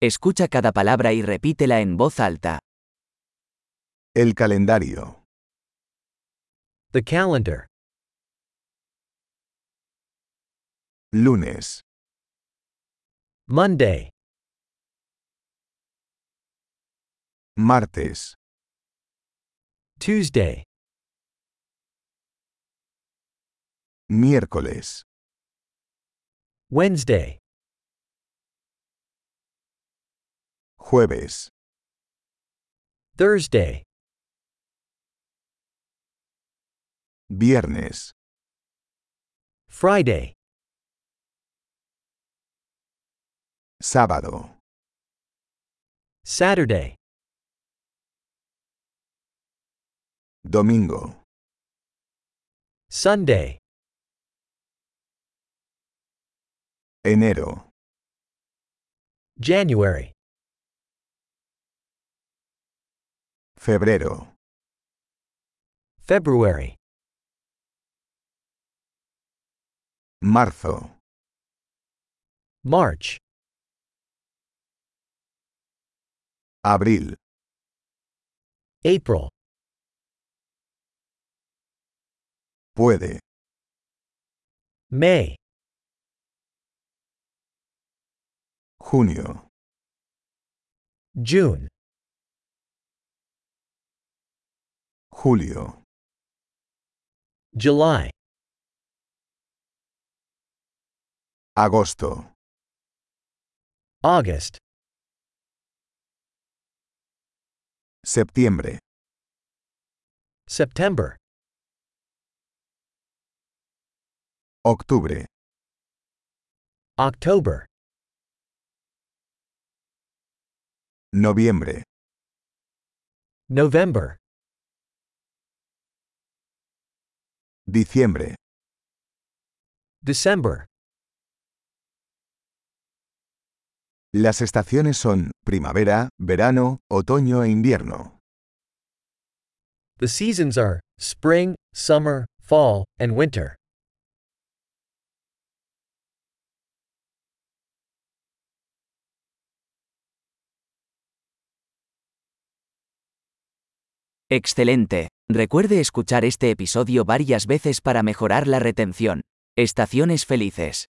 Escucha cada palabra y repítela en voz alta. El calendario. The calendar. Lunes, Monday, martes, Tuesday, miércoles, Wednesday, jueves, Thursday, viernes, Friday, sábado, Saturday, domingo, Sunday, enero, January, febrero, February, marzo, March, abril, April, puede, May, junio, June, julio, July, agosto, August, septiembre, September, octubre, October, noviembre, November, diciembre, December. Las estaciones son primavera, verano, otoño e invierno. The seasons are spring, summer, fall, and winter. Excelente. Recuerde escuchar este episodio varias veces para mejorar la retención. Estaciones felices.